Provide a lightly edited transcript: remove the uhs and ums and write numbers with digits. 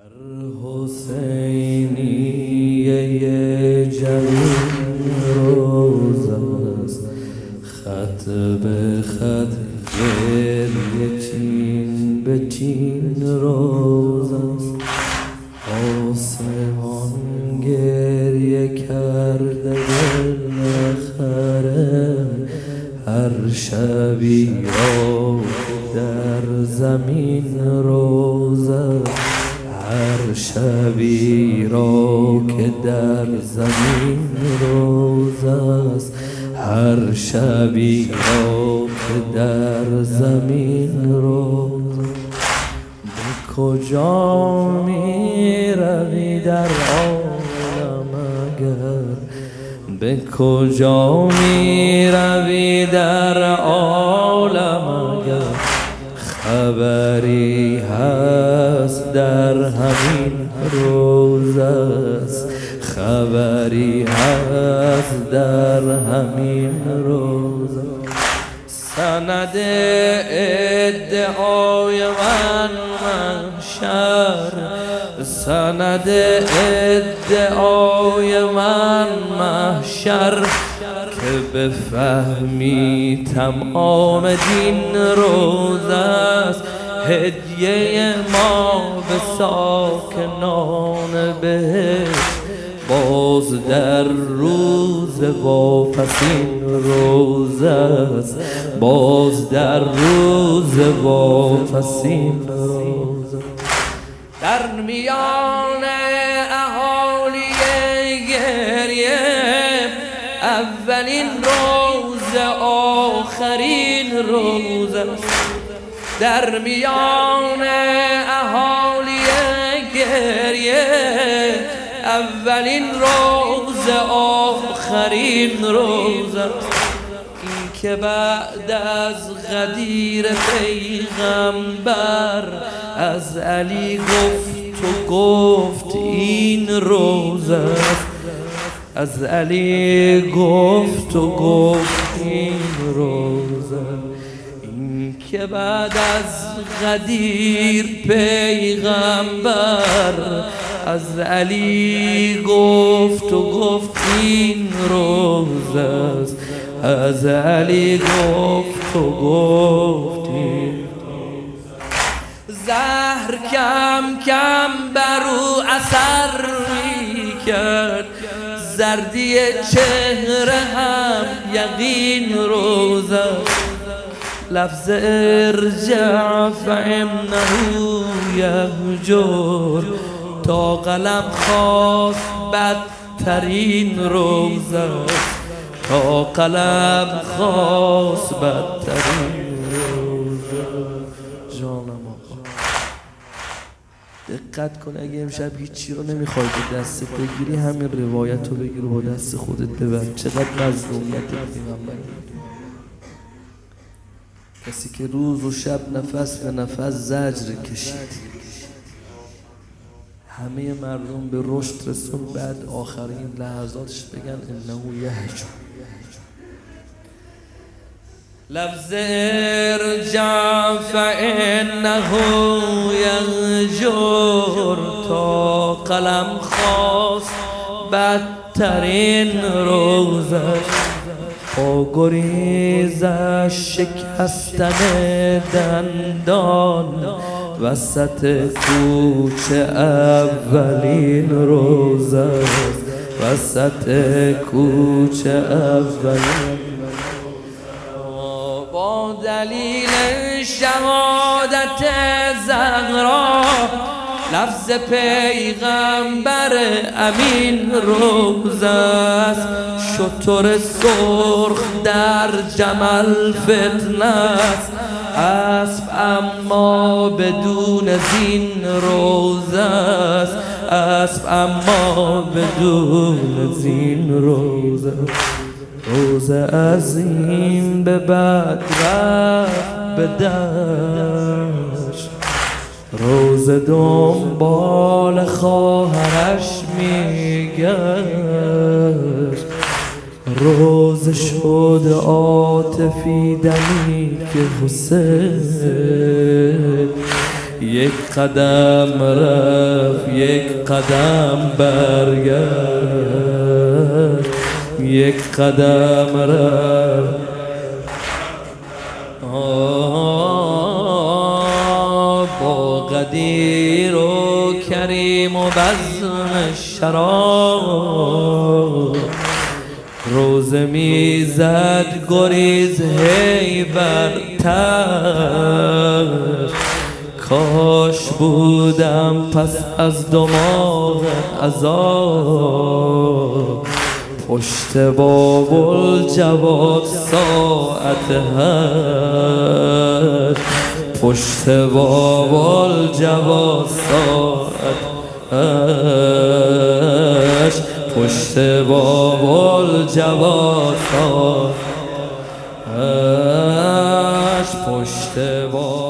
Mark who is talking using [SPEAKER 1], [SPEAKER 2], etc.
[SPEAKER 1] حسینیه جوین روز است، خط به خط گریه چین به چین روز است. آسمان گریه کرده دل نخره، هر شبی را در زمین روز است، هر شبی را که در زمین روز است، هر شبی را که در زمین روز است. به کجا می روی در عالم اگر، به کجا می روی در عالم اگر، خبری هست در همین روز است، خبری هست در همین روز است. سند ادعای من محشر، سند ادعای من محشر، که بفهمی تمام دین روز است. هدیه ما به ساکنان بهشت، باز در روز واپسین روز است، باز در روز واپسین روز است. در میان اهالی گریه، اولین روز آخرین روز است. در میان اهالی گریه، اولین روز آخرین روز است. این که بعد از غدیر پیغمبر از علی گفت و گفت این روز است، از علی گفت و گفت این روز است. این که بعد از غدیر پیغمبر از علی گفت و گفت این روز است، از علی گفت و گفت این روز. زهر کم کم بر او اثر می کرد، زردی چهره هم یقین روز است. لفظ ارجع فانه یهجر، تا قلم خواست بدترین روز است، تا قلم خواست بدترین روز است. جانم آقا دقت کن، اگه امشب هیچی رو نمیخوای به دستت بگیری، همین روایت رو بگیر و با دست خودت ببر. چقدر مظلومیت پیغمبر، کسی که روز و شب نفس به نفس زجر کشید، همه مردم به رشد رسون، بعد آخرین لحظاتش بگن انه یهجر. لفظ ارجع فانه یهجر، تا قلم خواست بدترین روزش. با گریزش شکستن دندان، وسط کوچه اولین روز است، وسط کوچه اولین. با دلیل شهادت زهرا، لفظ پیغمبر امین روز است. شتر سرخ در جمل فتنه است، اسب اما بدون زین روز است، اسب اما بدون زین روز است. روز عظیم به بعد رفت به دشت، روز دنبال خواهرش میگشت، روز شد عاطفی دمی که حسین یک قدم رفت یک قدم برگشت، یک قدم رفت. با قدیر و کریم و بزم شراب روزه میزد گریز هی برتر. کاش بودم پس از دماغ عذاب پشت بابل جواد ساعت هشت، پشت بابل جواد ساعت هشت، پشت بابل جواد ساعت هشت، پشت بابل